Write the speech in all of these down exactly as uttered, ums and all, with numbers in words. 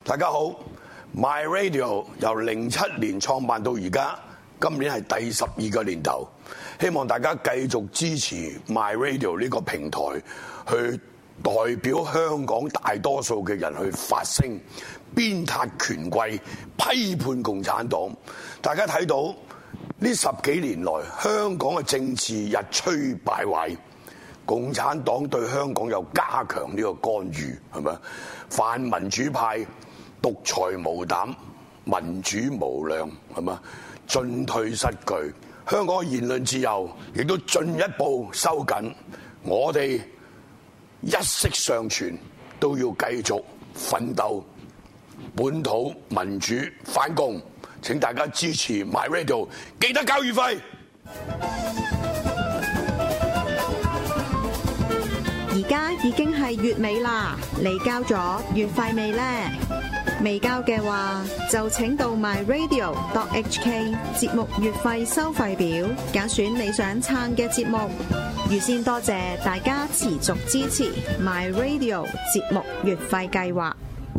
大家好 ，My Radio 由零七年創辦到而家，今年係第十二個年頭，希望大家繼續支持 My Radio 呢個平台，去代表香港大多數嘅人去發聲，鞭撻權貴，批判共產黨。大家睇到呢十幾年來，香港嘅政治日趨敗壞。共產黨對香港有加強呢個干預，係咪？泛民主派獨裁無膽，民主無量，係咪？進退失據，香港嘅言論自由亦都進一步收緊。我哋一息尚存，都要繼續奮鬥，本土民主反共。請大家支持 My Radio， 記得交月費。 而家已經係月尾啦，你交咗月費未呢？未交嘅話，就請到 my radio dot h k 節目月費收費表，揀選你想撐嘅節目。預先多謝大家持續支持 My Radio 節目月費計劃。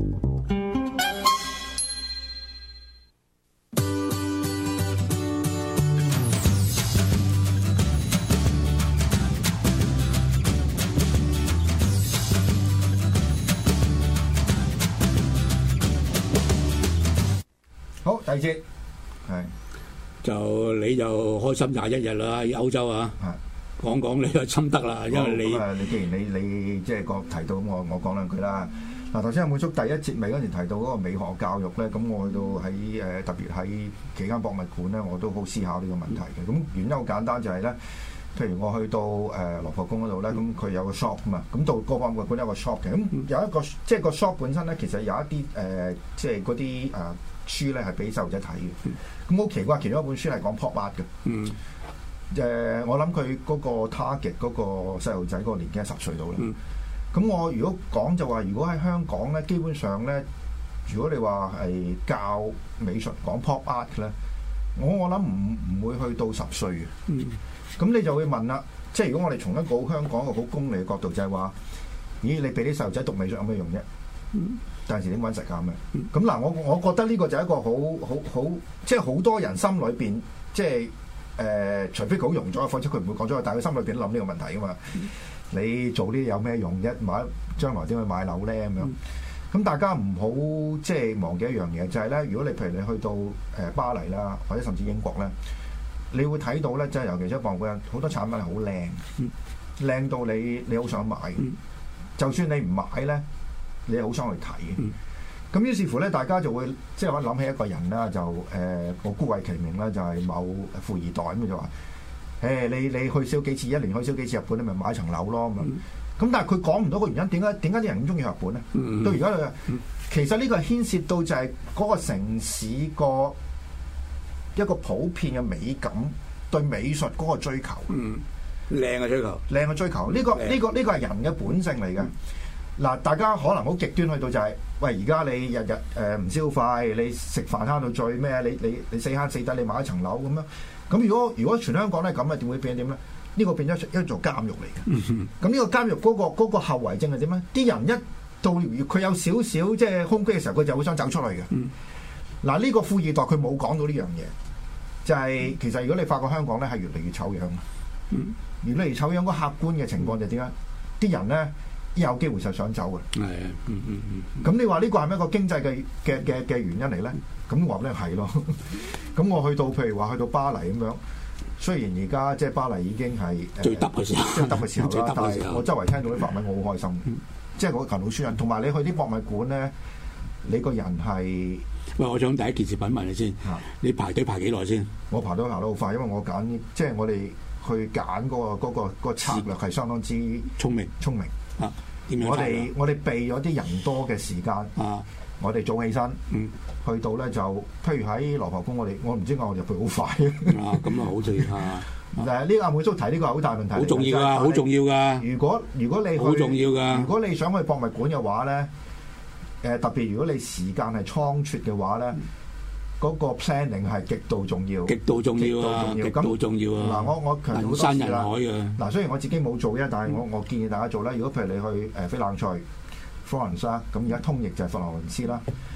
好，第二節係就你就開心廿一日啦，喺歐洲啊，講講你嘅心得啦，因為你咁啊，你既然你你即係講提到咁，我我講兩句啦。嗱，頭先阿滿叔第一節尾嗰陣提到嗰個美學教育咧，咁我去到喺誒特別喺幾間博物館咧，我都好思考呢個問題嘅。咁原因好簡單就係咧，譬如我去到誒羅浮宮嗰度咧，咁佢有個 shop 嘛，咁到個博物館有個 shop 嘅，咁有一個即係個 shop 本身咧，其實有一啲誒即係嗰啲誒。書咧係俾細路仔睇嘅，咁好奇怪，其中一本書係講 pop art 嘅。嗯，誒、呃，我諗佢嗰個 target 嗰個細路仔嗰個年紀係十歲到啦。咁、嗯、我如果講就話，如果喺香港咧，基本上咧，如果你話係教美術講 pop art 咧，我我諗唔唔會去到十歲嘅。嗯，咁你就會問啦，即係如果我哋從一個好香港一個好功利嘅角度，就係話，咦，你俾啲細路仔讀美術有咩用啫？嗯。有陣時點揾食啊咁樣，咁嗱，我我覺得呢個就係一個好好好，即係好多人心裏邊，即係誒、呃，除非佢好容咗，否則佢唔會講咗，但係佢心裏邊都諗呢個問題噶嘛。嗯、你做呢啲有咩用啫？買將來點去買樓咧咁樣？咁、嗯、大家唔好即係忘記一樣嘢，就係、是、咧，如果你譬如你去到誒巴黎啦，或者甚至英國咧，你會睇到咧，即係尤其係博物館好多產品係好靚，靚、嗯、到你你好想買，嗯、就算你唔買咧。你好想去睇嘅，咁、嗯、於是乎咧，大家就會即係我諗起一個人啦，就誒我姑謂其名啦，就係、是、某富二代咁就話，誒、欸、你你去少幾次，一年去少幾次日本，你咪買層樓咯咁樣。咁、嗯、但係佢講唔到個原因，點解點解啲人咁中意日本咧？嗯、到而家、嗯、其實呢個係牽涉到就係嗰個城市個一個普遍嘅美感，對美術嗰個追求， 靚嘅追求， 靚嘅追求，呢、這個呢、這個呢、這個係人嘅本性嚟嘅。嗯嗱，大家可能好極端去到就係、是，喂，而家你日日誒唔消費，你食飯慳到最咩？你你你死慳死抵，你買一層樓咁樣。咁如果如果全香港咧咁啊，點會變點咧？呢、這個變咗一座監獄嚟嘅。咁呢、嗯、哼個監獄嗰、那個嗰、那個後遺症係點咧？啲人一到佢有少少即係空隙嘅時候，佢就會想走出去嘅。嗱、嗯，呢、這個富二代佢冇講到呢樣嘢，就係、是、其實如果你發覺香港咧係越嚟越醜樣，嗯、越嚟越醜樣，個客觀嘅情況就點解？啲人咧。有機會就想走嘅，係啊，嗯嗯嗯。咁、嗯、你話呢個係咪一個經濟嘅嘅嘅嘅原因嚟咧？咁我話咧係咯。咁我去到譬如話去到巴黎咁樣，雖然而家即係巴黎已經係最耷嘅時候，最耷嘅時候啦，但係我周圍聽到啲法文，我好開心。嗯、即係我勤勞書人，同埋你去啲博物館咧，你個人係喂，我想第一件事品問你先，啊、你排隊排幾耐先？ 我排隊排得好快，因為我揀即係我哋去揀嗰、嗰個嗰、嗰個嗰個嗰個策略係相當之聰明聰明。啊、我哋我哋避咗啲人多嘅時間，啊、我哋早起身，嗯、去到咧就，譬如喺羅浮宮，我哋我唔知我入去好快啊！咁啊好重要啊！誒呢個阿滿叔提呢個係好大問題， 好重要噶，好重要噶。 如果如果你好重要噶， 如果你想去博物館嘅話咧，誒、呃、特別如果你時間係倉促嘅話咧。嗯嗰個 planning 係極度重要， 極度重要啊！極度重要啊！ 嗱，我我強調好多次啦。人山人海嘅。嗱，雖然我自己冇做啫，但係我我建議大家做啦。如果譬如你去誒翡冷翠 Florence 啦，咁而家通譯就係佛羅倫斯啦。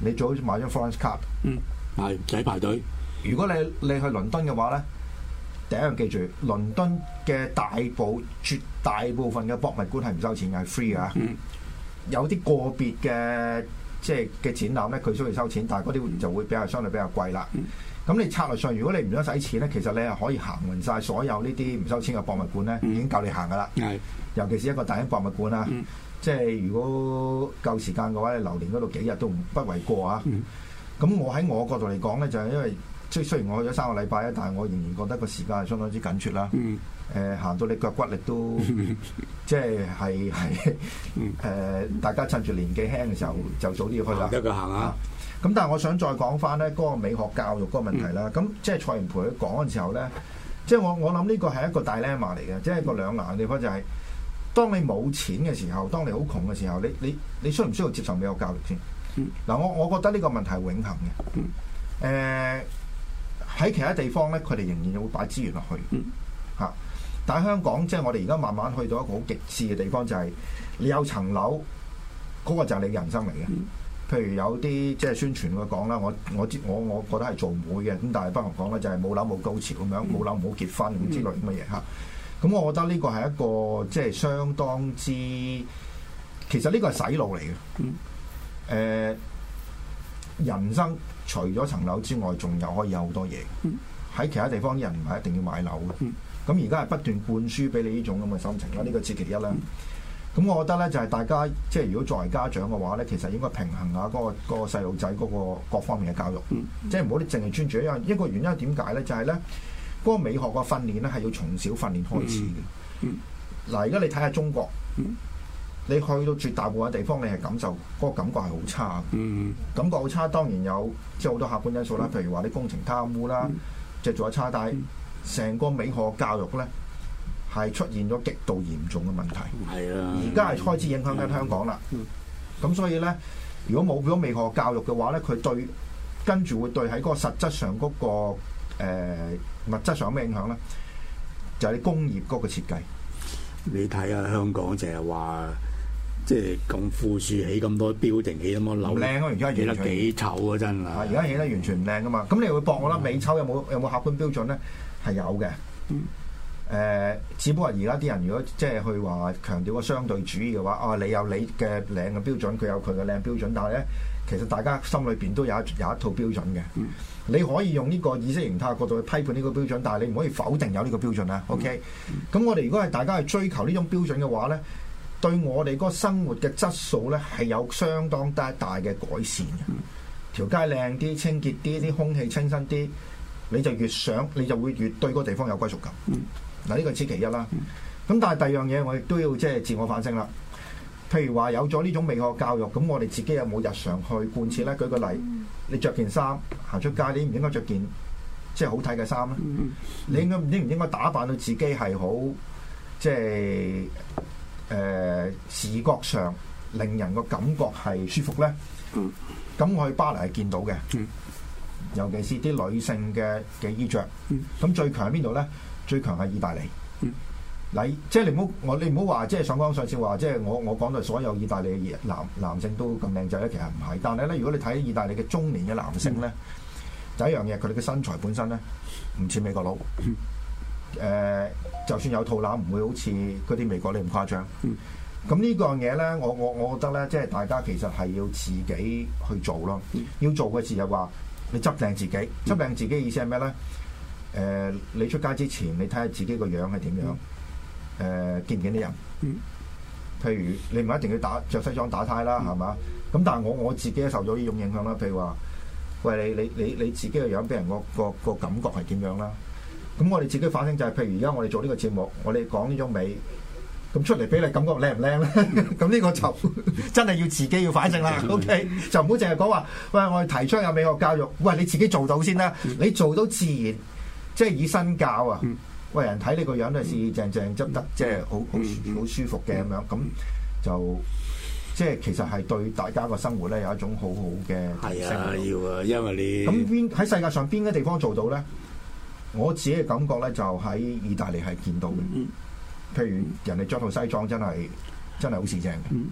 你最好買張 Florence card。 嗯，係唔使排隊。 如果你你去倫敦嘅話咧，第一樣記住，倫敦嘅大部絕大部分嘅博物館係唔收錢嘅，係 free 㗎。 嗯、 有啲個別嘅即係嘅展覽咧，佢需要收錢，但係嗰啲就會比較相對比較貴啦。咁、嗯、你策略上，如果你唔想使錢咧，其實你係可以行勻晒所有呢啲唔收錢嘅博物館咧，嗯、已經夠你行㗎啦。係、尤其是一個大英博物館啦，嗯、即係如果夠時間嘅話，你留連嗰度幾日都唔不為過啊。咁、嗯、我喺我角度嚟講咧，就係、是、因為即係雖然我去咗三個禮拜啊，但係我仍然覺得個時間係相當之緊缺啦。嗯誒、呃、行到你腳骨力都即係係係誒，大家趁住年紀輕嘅時候就早啲要去啦。 得佢行啊！ 咁、嗯、但係我想再講翻咧嗰個美學教育嗰個問題啦。咁、嗯、即係蔡元培佢講嘅時候咧，即係我我諗呢個係一個大 dilemma 嚟嘅，即係一個兩難嘅地方就係、是，當你冇錢嘅時候，當你好窮嘅時候，你你你需唔需要接受美學教育先？嗱、嗯呃，我我覺得呢個問題係永恆嘅。誒、嗯，喺、呃、其他地方咧，佢哋仍然會擺資源落去嚇。嗯啊但係香港，即係我哋而家慢慢去到一個好極致嘅地方，就係、是、你有層樓，嗰、那個就係你嘅人生嚟嘅。譬如有啲即係宣傳佢講啦，我我知我我覺得係做唔會嘅，咁但係不妨講咧就係冇樓冇高潮咁樣，冇樓唔好結婚咁之類咁嘅嘢嚇。咁我覺得呢個係一個即係相當之，其實呢個係洗腦嚟嘅。誒、呃，人生除咗層樓之外，仲有可以有好多嘢。喺其他地方啲人唔係一定要買樓嘅。咁而家係不斷灌輸俾你呢種咁嘅心情啦，呢、這個此其一啦。咁、嗯、我覺得咧就係、是、大家即係如果作為家長嘅話咧，其實應該平衡下嗰、那個嗰、那個細路仔嗰個各方面嘅教育，嗯、即係唔好啲淨係專注一樣。一個原因係點解咧？就係咧嗰個美學嘅訓練咧係要從小訓練開始嘅。嗱、嗯，而、嗯、家你睇下中國，嗯、你去到絕大部分地方，你係感受嗰、那個感覺係好差、嗯、感覺好差。當然有即係好多客觀因素啦，譬如話啲工程貪污啦，即係做得差，但係成個美學教育咧係出現咗極度嚴重嘅問題，係啊，而家係開始影響緊香港啦。咁、嗯、所以咧，如果冇咗美學教育嘅話咧，佢對跟住會對喺嗰個實質上嗰、嗰個、呃、物質上有咩影響咧？就係、是、你工業嗰個設計。 你睇下香港就係話，即係咁富庶起咁多building，起咁多樓， 靚啊！而家起得幾醜啊！真係， 而家起得完全唔靚噶嘛。咁你會駁我啦，美醜有冇有冇客觀標準咧？係有嘅，誒、嗯呃，只不過而家啲人如果即係去話強調個相對主義嘅話，啊，你有你嘅靚嘅標準，佢有佢嘅靚標準，但係咧，其實大家心裏邊都有一有一套標準嘅。嗯、你可以用呢個意識形態角度去批判呢個標準，但係你唔可以否定有呢個標準啊。OK，咁、嗯、我哋如果係大家去追求呢種標準嘅話咧，對我哋嗰個生活嘅質素咧係有相當大大嘅改善嘅。嗯、條街靚啲、清潔啲、啲空氣清新啲。你就越想，你就會越對嗰個地方有歸屬感。嗱、嗯，呢個此其一啦。咁、嗯、但係第二樣嘢，我亦都要即係自我反省啦。譬如話有咗呢種美學教育，咁我哋自己有冇日常去貫徹咧？舉個例，你着件衫行出街，你唔應該着件即係好睇嘅衫咧？嗯、你應該應唔應該打扮到自己係好即係誒、呃、視覺上令人個感覺係舒服咧？咁、嗯、我去巴黎係見到嘅。嗯尤其是啲女性嘅嘅衣着，咁、嗯、最強喺邊度咧？最強係意大利。嗱、嗯，即係你唔好我你唔好話，即係上綱上線話，即係我我講到所有意大利嘅男男性都咁靚仔咧，其實唔係。但係咧，如果你睇意大利嘅中年嘅男性咧，嗯、第一樣嘢佢哋嘅身材本身咧唔似美國佬。誒、嗯呃，就算有肚腩，唔會好似嗰啲美國你咁誇張。咁、嗯、呢個樣嘢咧，我我我覺得咧，即係大家其實係要自己去做咯。嗯、要做嘅事就話。你執靚自己，執靚自己嘅意思係咩咧？誒、呃，你出街之前，你睇下自己個樣係點樣？誒、呃，見唔見啲人？嗯、譬如你唔一定要打着西裝打呔啦，係嘛、嗯？咁但係我我自己受咗呢種影響啦。譬如話，喂，你你你你自己個樣俾人個個個感覺係點樣啦？咁我哋自己反省就係、是，譬如而家我哋做呢個節目，我哋講呢種美。咁出嚟俾你感覺靚唔靚咧？咁呢個就真係要自己要反省啦。OK，就唔好淨係講話，喂，我哋提倡有美學教育，喂，你自己做到先啦。你做到自然，即係以身教啊。喂，人睇你個樣都係四正正執得，即係好好好舒服嘅咁樣。咁就即係其實係對大家個生活咧有一種好好嘅提升。係啊，要啊，因為你咁邊喺世界上邊嘅地方做到咧？我自己嘅感覺咧就喺意大利係見到嘅。譬如人哋着套西裝真係真係好時正嘅，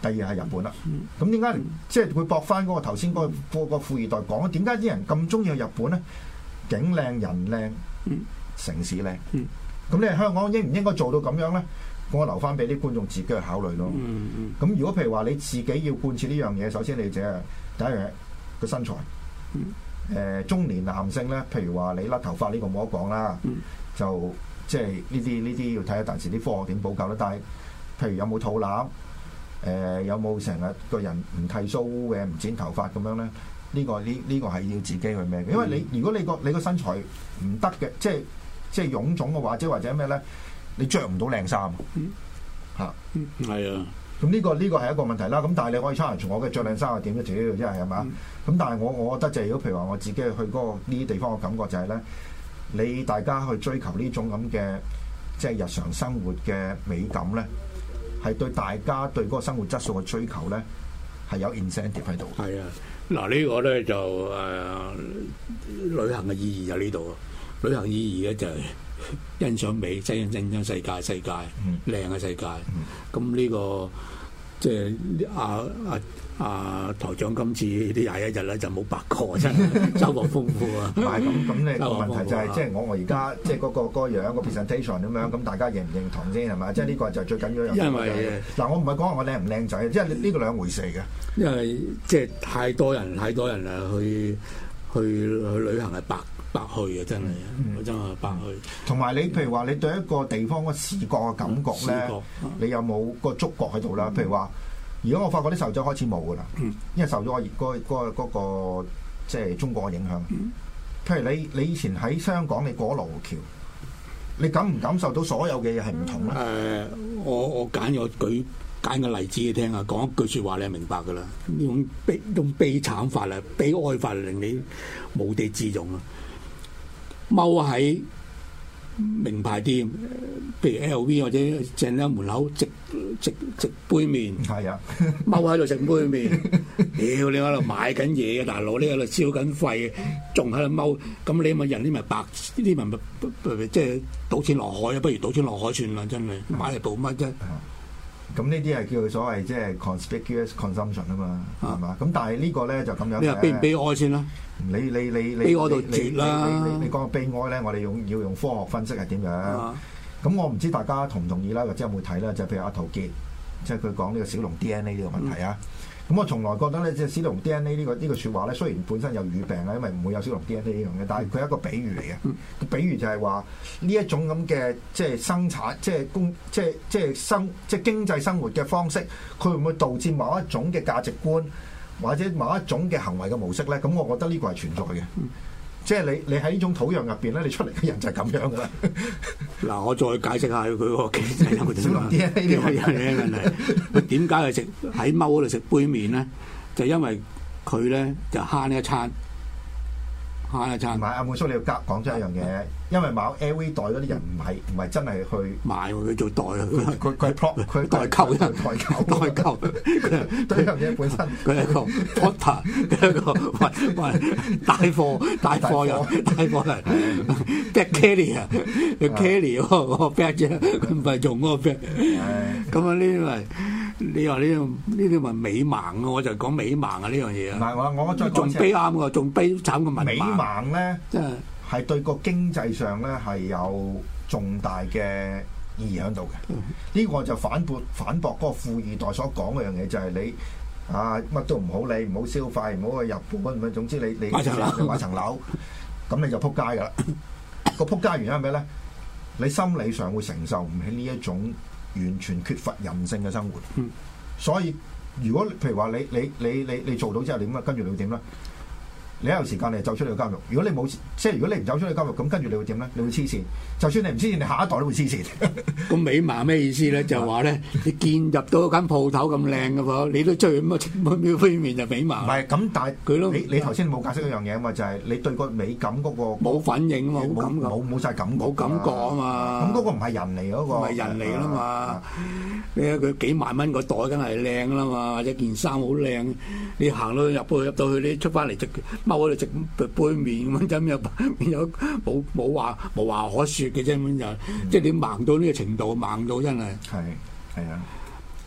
第二係日本啦。咁點解即係會駁翻嗰個頭先嗰個嗰個富二代講？點解啲人咁中意去日本咧？景靚人靚，城市靚。咁、嗯、你係香港應唔應該做到咁樣咧？我留翻俾啲觀眾自己去考慮咯。咁、嗯嗯、如果譬如話你自己要貫徹呢樣嘢，首先你就係第一樣嘢個身材。誒、嗯呃、中年男性咧，譬如話你甩頭髮呢個冇得講啦，嗯、就即係呢啲呢啲要睇下當時啲科學點補救啦。但係譬如有冇肚腩，誒、呃、有冇成日個人唔剃鬚嘅，唔剪頭髮咁樣咧？呢、呢個呢呢、呢個係要自己去咩嘅？因為你如果你個你個身材唔得嘅，即係即係臃腫嘅話，即係或者咩咧？你着唔到靚衫，嚇， 係啊。 咁呢個呢個係一個問題啦。咁但係你可以 challenge我嘅着靚衫係點嘅？主要真係係嘛？咁、嗯、但係我我覺得就係如果譬如話我自己去嗰、嗰個呢啲地方嘅感覺就係咧，你大家去追求呢種咁嘅即係日常生活嘅美感咧，係對大家對嗰個生活質素嘅追求咧係有 incentive 喺度。係啊， 嗱呢個咧就誒、呃、旅行嘅意義喺呢度。旅行意義咧就係、是。欣賞美，欣欣賞世界，世界靚嘅世界。咁呢、嗯這個即係阿阿阿台長今次呢廿一日咧就冇白過，真係收穫豐富啊！ 唔係咁咁，你個問題就係、是、即係我我而家即係嗰個嗰、那個樣個 presentation 咁樣，咁大家認唔認同先係咪？即係呢個就係最緊要一樣嘢。因為嗱，我唔係講話我靚唔靚仔，即係呢個兩回事嘅。 因為即係太多人，太多人啊，去去去旅行係白。白去啊！真係，嗯、真係白去。同埋你譬如話，你對一個地方嘅視覺嘅感覺咧，覺你有冇個觸覺喺度啦？嗯、譬如話，如果我發覺啲細路仔開始冇噶啦，嗯、因為受咗我嗰嗰嗰個即係中國嘅影響。嗯、譬如你你以前喺香港，你過羅湖橋，你感唔感受到所有嘅嘢係唔同咧？誒、 呃，我我揀我舉揀個例子你聽啊，講一句説話你係明白噶啦。呢種悲呢種悲慘法啊，悲哀法令你無地自容啊！踎喺名牌店，譬如 L V 或者正喺門口直直直杯麵， 係啊， 踎喺度食杯麵，屌你喺度買緊嘢嘅大佬，你喺度燒緊肺，仲喺度踎，咁你咪人呢咪白，呢啲咪即係賭錢落海啊！不如賭錢落海算啦，真係買嚟做乜啫？ 咁呢啲係叫做所謂即係 conspicuous consumption 啊嘛，係嘛？咁但係呢個咧就咁樣。 你話悲唔悲哀先啦？ 你你你你悲哀到絕啦！ 你你你講個悲哀咧，我哋用要用科學分析係點樣？咁我唔知大家同唔同意啦，或者有冇睇啦？就譬如阿陶傑，即係佢講呢個小龍 D N A 呢個問題啊。咁我從來覺得咧，即係小龍 D N A 呢個呢個説話咧，雖然本身有語病啊，因為唔會有小龍 D N A 呢樣嘢，但係佢係一個比喻嚟嘅。個比喻就係話呢一種咁嘅即係生產、即係工、即係即係生、即係經濟生活嘅方式，佢會唔會導致某一種嘅價值觀或者某一種嘅行為嘅模式咧？咁我覺得呢個係存在嘅。即係你你喺呢種土壤入邊咧，你出嚟嘅人就係咁樣噶啦。 嗱，我再解釋下佢個經濟生活點啊？呢啲係嘅問題。佢點解係食喺踎嗰度食杯麵咧？就因為佢咧就慳呢一餐，慳一餐。 唔係阿妹叔，你要夾講出一樣嘢，因為買 L V 袋嗰啲人唔係唔係真係去買佢做袋啊！ 佢佢佢佢代購，代購，代購。對樣嘢本身， 佢係一個 porter，佢係一個喂喂帶貨帶貨人，帶貨人 bag carrier 啊，要 carry 嗰個 bag 啫，佢唔係用嗰個 bag。咁啊，呢啲咪你話呢啲呢啲咪美盲啊？我就講美盲啊呢樣嘢啊。 唔係我我再仲悲啱喎，仲悲慘過文盲。 美盲咧，即係係對個經濟上咧係有重大嘅意義喺度嘅。呢、嗯、個就反駁反駁嗰個富二代所講嗰樣嘢，就係你啊乜都唔好理，唔好消費，唔好去日本咁樣。總之你你買層樓，買層樓，咁你就撲街㗎啦。個撲街原因係咩咧？你心理上會承受唔起呢一種完全缺乏人性嘅生活。嗯、所以如果譬如話你你你你你做到之後點啊？跟住你會點咧？你有時間你就走出去監獄，如果你冇即係如果你唔走出去監獄，咁跟住你會點咧？你會黐線，就算你唔黐線，你下一代都會黐線。 咁美盲咩意思咧？就係話咧，你見入到間鋪頭咁靚嘅喎，你都追咁啊，秒飛面就美盲。 唔係咁，但係佢都你你頭先冇解釋一樣嘢啊嘛，就係、是、你對個美感嗰、那個冇反應啊嘛，冇感覺， 冇冇曬感覺， 冇感覺啊嘛。 咁嗰個唔係人嚟嗰個， 唔係人嚟啦嘛。你睇佢幾萬蚊個袋，梗係靚啦嘛，或者件衫好靚。你行到入去入到去，你出翻嚟直踎喺度直杯麵咁樣，有有冇冇話冇話可説嘅啫咁就，即係你盲到呢個程度，盲到真係係係啊！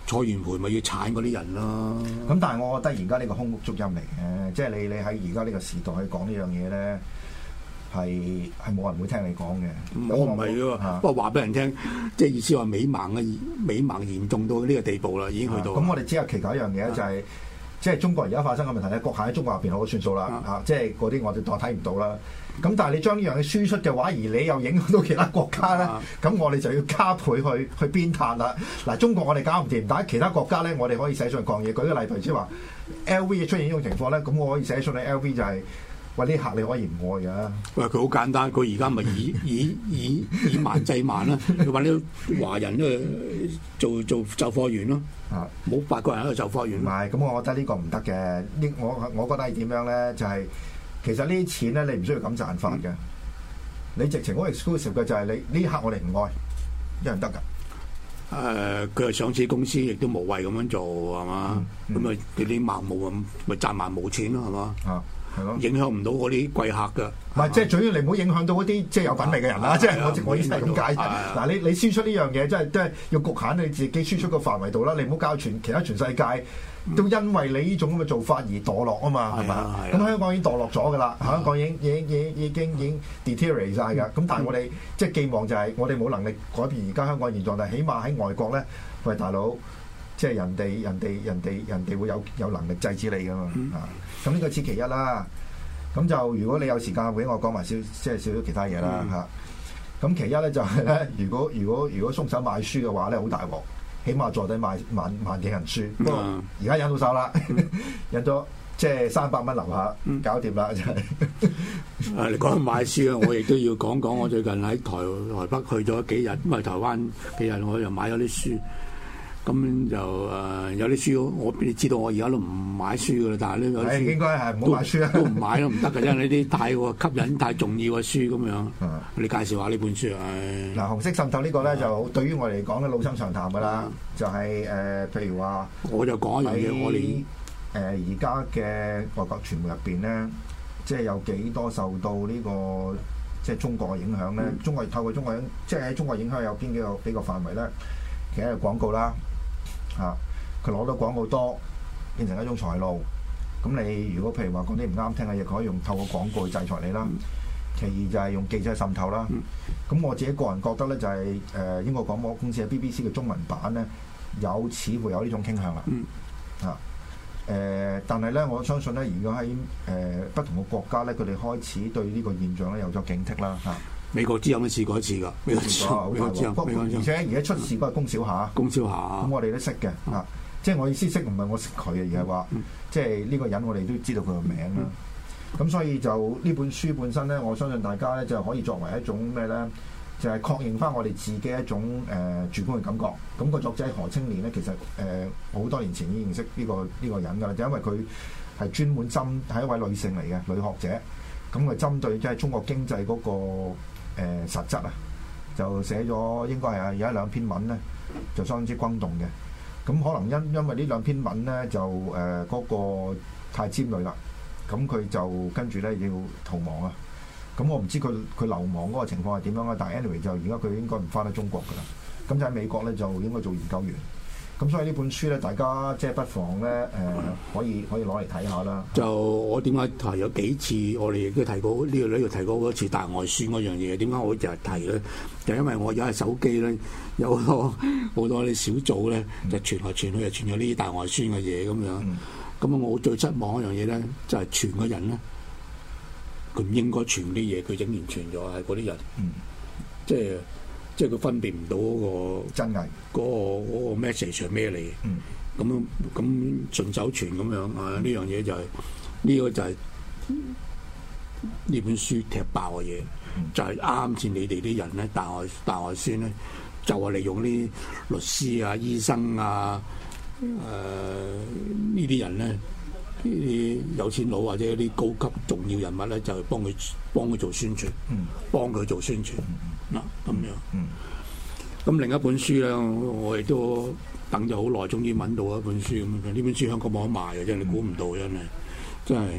蔡元培咪要鏟嗰啲人咯。 咁但係我覺得而家呢個空谷足音嚟嘅，即係你你喺而家呢個時代去講呢樣嘢咧，係係冇人會聽你講嘅。 我唔係喎，不過話俾人聽，即係意思話美盲嘅美盲嚴重到呢個地步啦，已經去到。咁我哋只係祈求一樣嘢就係。即係中國而家發生嘅問題咧，局限喺中國入邊好算數啦嚇、啊，即係嗰啲我哋當睇唔到啦。咁但係你將呢樣嘢輸出嘅話，而你又影響到其他國家咧，咁、啊、我哋就要加倍去去鞭撻啦。嗱，中國我哋搞唔掂，但係其他國家咧，我哋可以寫信抗議。舉個例，譬如即係話 L V 出現呢種情況咧，咁我可以寫信去 L V 就係、是。喂，呢客你可以唔愛㗎？ 喂，佢好簡單，佢而家咪以以以以慢制慢啦，佢揾啲華人咧做做售貨員咯，啊，冇法國人喺度售貨員。 唔係，咁我覺得呢個唔得嘅。呢我我覺得係點樣咧？就係、是、其實呢啲錢咧，你唔需要咁賺法嘅。你直情好 exclusive 嘅就係你呢客我哋唔愛，一樣得㗎。誒、 呃，佢係上市公司，亦都無謂咁樣做係嘛？咁咪佢啲盲毛咁，咪賺埋冇錢咯係嘛？啊！影響唔到嗰啲貴客㗎，唔係即係主要你唔好影響到嗰啲即係有品味嘅人啦。即係我我意思係咁解。嗱，你你輸出呢樣嘢，即係即係要局限你自己輸出個範圍度啦。你唔好教全其他全世界都因為你呢種咁嘅做法而墮落啊嘛，係嘛？咁香港已經墮落咗㗎啦，香港已經已經已經已經已經 deteriorate 曬㗎。咁但係我哋即係寄望就係我哋冇能力改變而家香港現狀，但係起碼喺外國咧，喂大佬，即係人哋人哋人哋人哋會有有能力制止你㗎嘛啊！咁呢個此其一啦，咁就如果你有時間會我講埋少即係少少其他嘢啦嚇。咁、嗯、其一咧就係、是、咧，如果如果如果鬆手買書嘅話咧，好大鑊，起碼坐底買萬萬幾人書。不過而家引到手啦，引咗即係三百蚊樓下，嗯、搞掂啦真係。 啊，你講買書啊，我亦都要講講。我最近喺台台北去咗幾日，咁啊台灣幾日，我又買咗啲書。咁就誒、呃、有啲書，我你知道我而家都唔買書噶啦，但係呢有啲書應該係唔好買書啊， 都唔買咯，唔得嘅，因為呢啲太過吸引、太重要嘅書咁樣。你介紹下呢本書啊？ 嗱，紅色滲透個呢個咧就對於我嚟講咧老生常談噶啦，就係、是、誒、呃、譬如話， 我就講一樣嘢，我哋誒而家嘅外國傳媒入邊咧，即係有幾多受到呢、這個即係中國嘅影響咧？嗯、中國透過中國影，即係喺中國影響有邊幾個幾個範圍咧？其實係廣告啦。啊！佢攞到廣告多，變成一種財路。咁你如果譬如話講啲唔啱聽嘅嘢，佢可以用透過廣告去制裁你啦。嗯、其二就係用記者滲透啦。咁、嗯、我自己個人覺得咧，就係、是、誒、呃、英國廣播公司嘅 B B C 嘅中文版咧，有似乎有呢種傾向啦。嗯、啊誒、呃，但係咧，我相信咧，而家喺誒不同嘅國家咧，佢哋開始對呢個現象咧有咗警惕啦。嚇、啊！ 美國之音都試過一次㗎，美國之音，美國之音， 而且而家出事嗰係供小夏， 供小夏， 咁我哋都識嘅啊，即係我意思識唔係我識佢嘅，而係話即係呢個人我哋都知道佢個名啦。咁所以就呢本書本身咧，我相信大家咧就可以作為一種咩咧，就係確認翻我哋自己一種誒主觀嘅感覺。咁個作者何清漣咧，其實誒好多年前已經認識呢個呢個人㗎啦，就因為佢係專門針係一位女性嚟嘅女學者，咁佢針對即係中國經濟嗰個。誒、呃、實質啊，就寫咗應該係有一兩篇文咧，就相當之轟動嘅。咁可能因因為呢兩篇文咧，就誒嗰、呃那個太尖銳啦，咁佢就跟住咧要逃亡啊。咁我唔知佢佢流亡嗰個情況係點樣啊，但係 anyway 就而家佢應該唔翻得中國㗎啦。咁就喺美國咧就應該做研究員。咁所以呢本書咧，大家即係不妨咧誒、呃，可以可以攞嚟睇下啦。 就我點解提咗幾次，我哋亦都提過呢、這個呢度提過嗰次大外宣嗰樣嘢。點解我成日提咧？就因為我而家係手機咧，有好多好多啲小組咧，就傳來傳去，就傳咗呢啲大外宣嘅嘢咁樣。咁啊，我最失望一樣嘢咧，就係傳嘅人咧，佢唔應該傳啲嘢，佢竟然傳咗係嗰啲人，嗯、即係。即係佢分辨唔到嗰個真偽， 嗰、嗰個嗰個 message 係咩嚟？咁樣咁順手傳咁樣啊！呢樣嘢就係、係、呢、呢個就係呢本書踢爆嘅嘢，嗯、就係啱先你哋啲人咧，大外大外宣咧，就係利用啲律師啊、醫生啊、誒呢啲人咧，呢啲有錢佬或者啲高級重要人物咧，就係幫佢幫佢做宣傳，嗯、幫佢做宣傳。嗱咁樣，咁、嗯、另一本書咧，我亦都等咗好耐，終於揾到一本書咁樣。呢本書香港冇得賣嘅，真係你估唔到，真係真係。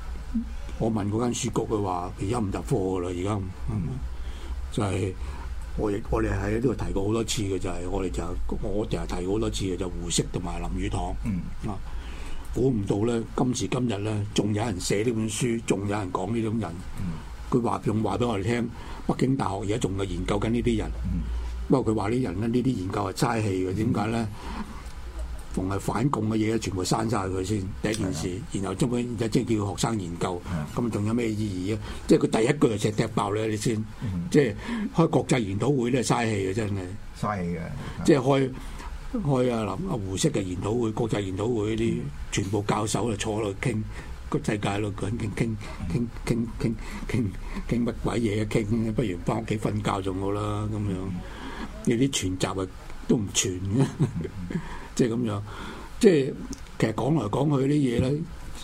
我問嗰間書局，佢話而家唔入貨噶啦，而家、嗯、就係、是、 我亦我哋喺呢度提過好多次嘅就係、是、我哋就我哋係提過好多次嘅就胡適同埋林語堂。 嗯啊，估唔到咧，今時今日咧，仲有人寫呢本書，仲有人講呢種人。佢話仲話俾我哋聽，北京大學而家仲係研究緊呢啲人。 嗯、 不過佢話呢啲人咧，呢啲研究係嘥氣嘅。點解咧？逢係反共嘅嘢，全部刪晒佢先，第一件事， 嗯、 然後將佢即係叫學生研究，咁仲、 嗯、 有咩意義啊？即係佢第一句就赤踢爆咧，你先， 嗯、 即係開國際研討會咧，嘥氣嘅真係， 嘥氣嘅， 即係開開啊林啊胡適嘅研討會、國際研討會啲，嗯、全部教授就坐喺度傾個世界咯，傾傾傾傾傾傾傾傾乜鬼嘢啊？傾不如翻屋企瞓覺仲好啦，咁樣有啲全集啊都唔全嘅。即係咁樣，即係其實講來講去啲嘢咧，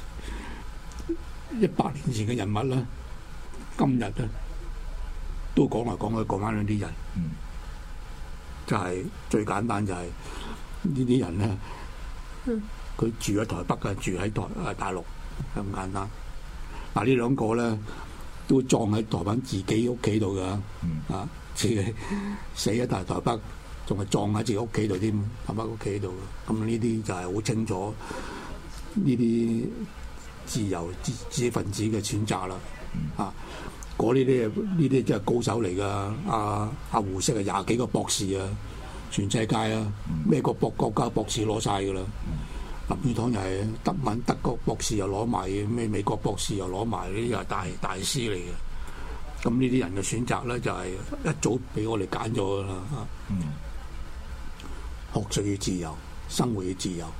一百年前嘅人物咧，今日咧都講來講去講翻嗰啲人， 嗯、 就係、是、最簡單就係、是、呢啲人咧，佢、嗯、住喺台北嘅，住喺台啊大陸咁簡單。嗱呢兩個咧都葬喺台灣自己屋企度㗎， 嗯、 啊自己死喺大台北。仲係撞喺自己屋企度添，喺翻屋企度。咁呢啲就係好清楚呢啲自由知知識分子嘅選擇啦。嗯、啊，嗰啲啲呢啲真係高手嚟㗎。阿阿胡適係廿幾個博士啊，全世界啊，咩個國國家博士攞晒㗎啦。嗯、林語堂又係德文德國博士又攞埋，咩美國博士又攞埋，呢啲又係大大師嚟嘅。咁呢啲人嘅選擇咧，就係、是、一早俾我哋揀咗㗎啦。嗯學術要自由，生活要自由，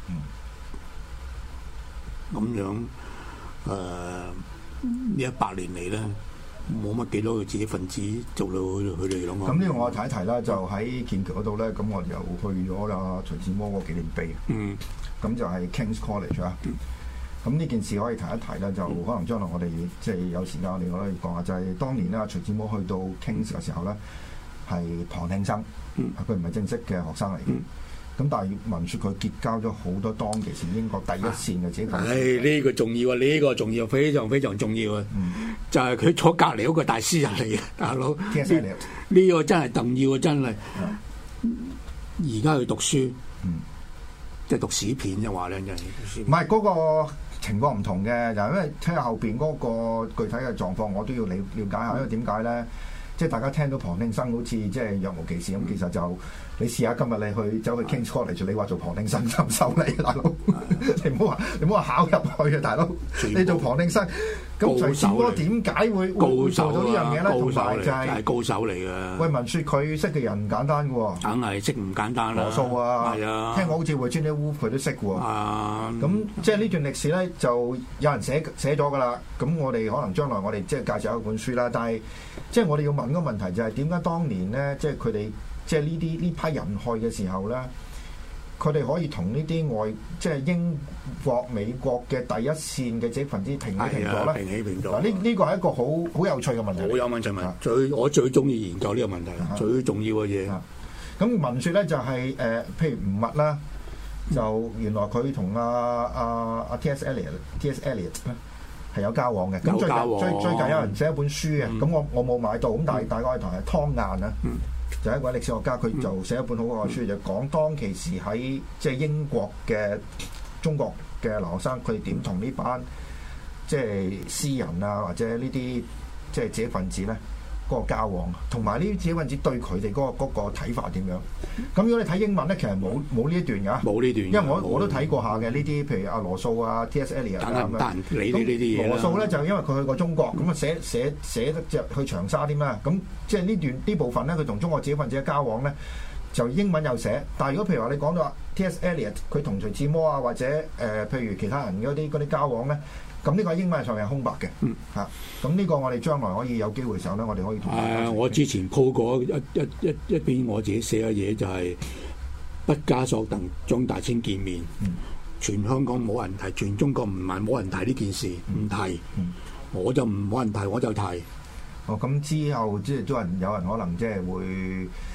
咁、嗯、樣誒呢、呃、一百年嚟咧，冇乜幾多個知識分子做到佢哋咁啊！ 咁呢個我提一提啦，就喺劍橋嗰度咧，咁我又去咗啦徐志摩個紀念碑。嗯，咁就係 King's College 啊。咁呢、嗯、件事可以提一提啦，就可能將來我哋即係有時間我哋可以講下，就係、是、當年咧徐志摩去到 King's 嘅時候咧，係旁聽生，佢唔係正式嘅學生嚟嘅。嗯咁但係聞説佢結交咗好多當其時英國第一線嘅知識分子。唉， 呢個重要啊！呢個重要，非常非常重要啊！嗯、就係佢坐隔離嗰個大詩人嚟嘅，大佬。 T S Eliot 呢個真係重要啊！真係。而家去讀書，嗯、即係讀史片啫話咧，真係。 唔係嗰個情況唔同嘅，就係因為聽下後邊嗰個具體嘅狀況，我都要了了解下，因為點解咧？即係大家聽到旁聽生好似即係若無其事咁，其實就你試下今日你去走去 King's College，你話做旁聽生就唔收你，大佬。你唔好話你唔好話考入去啊，大佬。你做旁聽生，咁徐志摩點解會會做到呢樣嘢咧？同埋就係高手嚟嘅。喂，聞説佢識嘅人唔簡單嘅喎。梗係識唔簡單啦。羅素啊，係啊，聽講好似 Virginia Woolf 佢都識喎。啊，咁即係呢段歷史咧，就有人寫寫咗㗎啦。咁我哋可能將來我哋即係介紹一本書啦。但係即係我哋要問個問題就係點解當年咧，即係佢哋即係呢啲呢批人去嘅時候咧，佢哋可以同呢啲外即係英國、美國嘅第一線嘅知識分子平起平坐咧？平起平坐嗱，呢呢個係一個好好有趣嘅問題。好有問題問，最我最中意研究呢個問題，最重要嘅嘢。咁聞説咧就係誒，譬如吳密啦，就原來佢同阿阿阿 T S Eliot T S Eliot 咧係有交往嘅。咁最近最最近有人寫一本書嘅，咁我我冇買到，咁但係大概同係湯晏啊。就係一位歷史學家，佢就寫一本好好嘅書，就講當其時喺即係英國嘅中國嘅留學生，佢哋點同呢班即係詩人啊，或者呢啲即係知識分子咧嗰個交往，同埋呢啲知識分子對佢哋嗰個嗰個睇法點樣？咁如果你睇英文咧，其實冇冇呢一段㗎，冇呢段，因為我我都睇過下嘅呢啲，譬如阿羅素啊、T S Eliot 啊咁樣。你呢呢啲嘢羅素咧就因為佢去過中國，咁啊寫寫寫得隻去長沙添啦。咁即係呢段呢部分咧，佢同中國知識分子嘅交往咧，就英文有寫。但係如果譬如話你講到話 T S Eliot 佢同徐志摩啊，或者誒、呃、譬如其他人嗰啲嗰啲交往咧。咁呢個英文上面係空白嘅，嗯嚇，咁呢個我哋將來可以有機會嘅時候咧，我哋可以同。誒，我之前鋪過一一一一篇我自己寫嘅嘢，就係畢加索同張大千見面，嗯、全香港冇人提，全中國唔係冇人提呢件事，唔提，嗯、我就唔冇人提，我就提。哦，咁之後即係都人有人可能即係會。即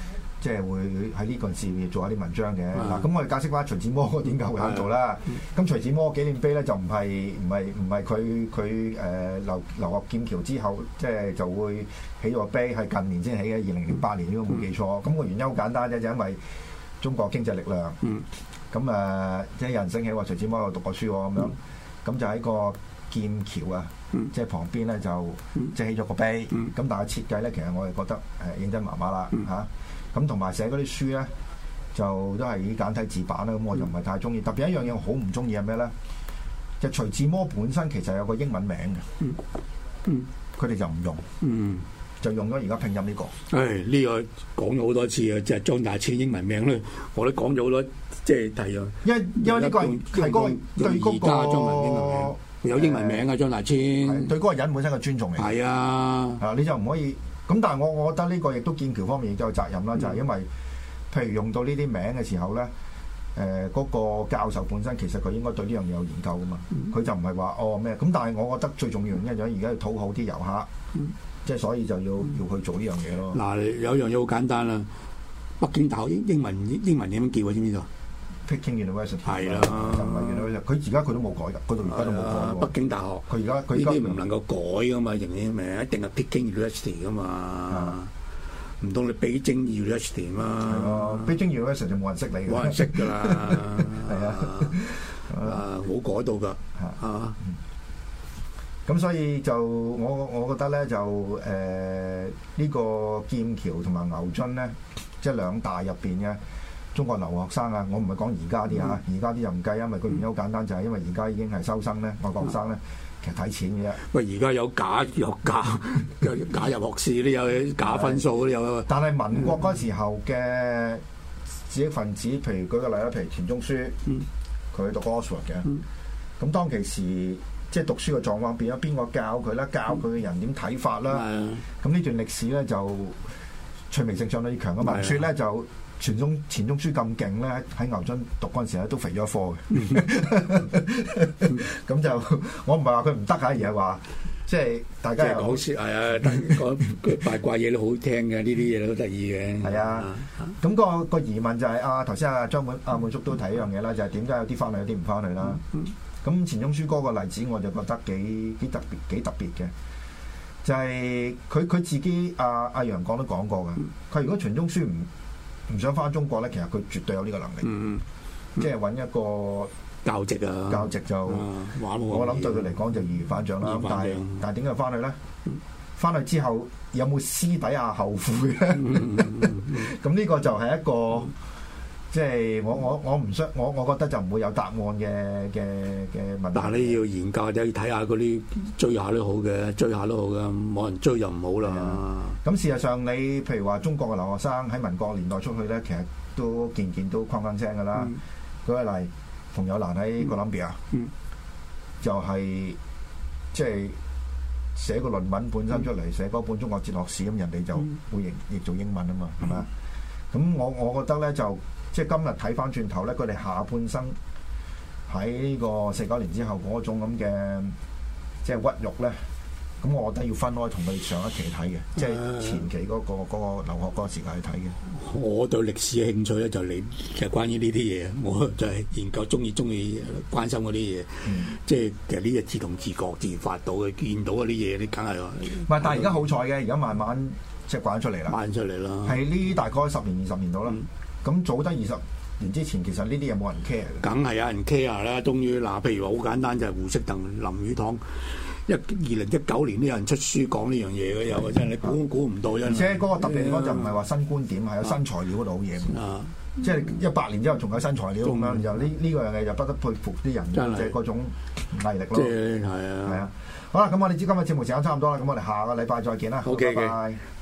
即係會喺呢個事業做一啲文章嘅。嗱，咁我哋解釋翻徐志摩點解會喺度啦。咁徐志摩紀念碑咧就唔係唔係唔係佢佢誒流流落劍橋之後，即係就會起咗個碑，係近年先起嘅，二零零八年如果冇記錯。咁個原因好簡單啫，就因為中國經濟力量。咁誒，即係有人升起話徐志摩有讀過書喎，咁樣，咁就喺個劍橋啊，即係旁邊咧就即係起咗個碑。咁但係設計咧，其實我係覺得誒認真麻麻啦嚇。咁同埋寫嗰啲書咧，就都係以簡體字版啦。咁我就唔係太中意。特別一樣嘢我好唔中意係咩咧？就徐志摩本身其實有個英文名嘅，佢哋就唔用。就用咗而家拼音呢個。 唉，呢個講咗好多次啊，即係張大千英文名咧，我都講咗好多，即係提啊。 因因為呢個係係嗰個對嗰個有英文名啊，張大千對嗰個人本身嘅尊重嚟。 係啊， 啊你就唔可以咁，但係我我覺得呢個亦都劍橋方面亦都有責任啦，就係因為譬如用到呢啲名嘅時候咧，誒嗰個教授本身其實佢應該對呢樣嘢有研究噶嘛，佢就唔係話哦咩咁，但係我覺得最重要原因就係而家要討好啲遊客。即係所以就要要去做呢樣嘢咯。嗱， 有一樣嘢好簡單啦。北京大學英英文英文點樣叫啊？知唔知道 ？Peking University 係啦， 就唔係 University。佢而家佢都冇改㗎，嗰度而家都冇改。 北京大學佢而家佢呢啲唔能夠改㗎嘛，認啲名一定係 Peking University 㗎嘛。唔通你北京 University 嘛？ 係咯，北京 University 就冇人識你㗎。 冇人識㗎啦。 係啊， 啊冇改到㗎啊。 咁所以就我我覺得咧就誒呢、呃這個劍橋同埋牛津咧，即係兩大入邊嘅中國留學生啊，我唔係講而家啲嚇，而家啲就唔計，因為個原因好簡單，就係、是、因為而家已經係收生咧，外國生咧，其實睇錢嘅啫。 喂，而家有假有假有假入學試，都有假分數都有。 但係民國嗰時候嘅知識分子，譬如舉個例啦，譬如錢鍾書，佢、嗯、讀 Oxford 嘅，咁、嗯、當其時。即係讀書嘅狀況變咗，邊個教佢啦？教佢嘅人點睇法啦？咁呢、嗯、段歷史咧就趣味性相當之強嘅。文説咧就錢鍾錢鍾書咁勁咧，喺牛津讀嗰陣時咧都肥咗一科嘅。咁就我唔係話佢唔得嚇，而係話即係大家講説係啊，講八卦嘢都好聽嘅，呢啲嘢都得意嘅。 係啊，咁、那個個疑問就係、是、啊，頭先阿張滿阿滿叔都提一樣嘢啦，就係點解有啲翻去，有啲唔翻去啦？咁錢鍾書嗰個例子我就覺得幾幾特別幾特別嘅，就係佢佢自己阿阿、啊、楊廣都講過嘅。佢如果錢鍾書唔唔想翻中國咧，其實佢絕對有呢個能力，嗯嗯、即係揾一個教職啊， 教職就、啊、我諗對佢嚟講就易如反掌啦。但係但係點解翻去咧？翻去之後有冇私底下後悔咧？咁呢、嗯嗯嗯、個就係一個。即係我我我唔想我我覺得就唔會有答案嘅嘅嘅問題。但係你要研究就要睇下嗰啲追下都好嘅，追下都好嘅，冇人追就唔好啦。咁事實上你譬如話中國嘅留學生喺民國年代出去咧，其實都件件都框框聲㗎啦。舉個例，馮友蘭喺哥倫比亞，嗯、就係即係寫個論文本身出嚟，寫嗰本中國哲學史，咁人哋就會譯譯做英文啊嘛，係咪啊？咁我我覺得咧就。即係今日睇翻轉頭咧，佢哋下半生喺呢個四九年之後嗰種咁嘅即係屈辱咧，咁我覺得要分開同佢哋上一期睇嘅，即係前期嗰、嗰個嗰個留學嗰個時間去睇嘅。我對歷史嘅興趣咧就你其實關於呢啲嘢，我就係研究中意中意關心嗰啲嘢，嗯、即係其實呢啲自動自覺自發到嘅，見到嗰啲嘢，你梗係唔係？但係而家好彩嘅，而家慢慢即係慣出嚟啦，慣出嚟啦，係呢大概十年二十年到啦。嗯咁早得二十年之前，其實呢啲嘢冇人 care 嘅。梗係有人 care 啦。終於嗱，譬如話好簡單，就係胡適同林語堂一二零一九年都有人出書講呢樣嘢嘅，有真係你估估唔到。而且嗰個特別地方就唔係話新觀點，係有新材料嗰度好嘢。啊，即係一百年之後仲有新材料咁樣，就呢呢個樣嘢就不得佩服啲人嘅嗰種毅力咯。即係係啊，係啊。好啦，咁我哋知今日節目時間差唔多啦，咁我哋下個禮拜再見啦。好，拜拜。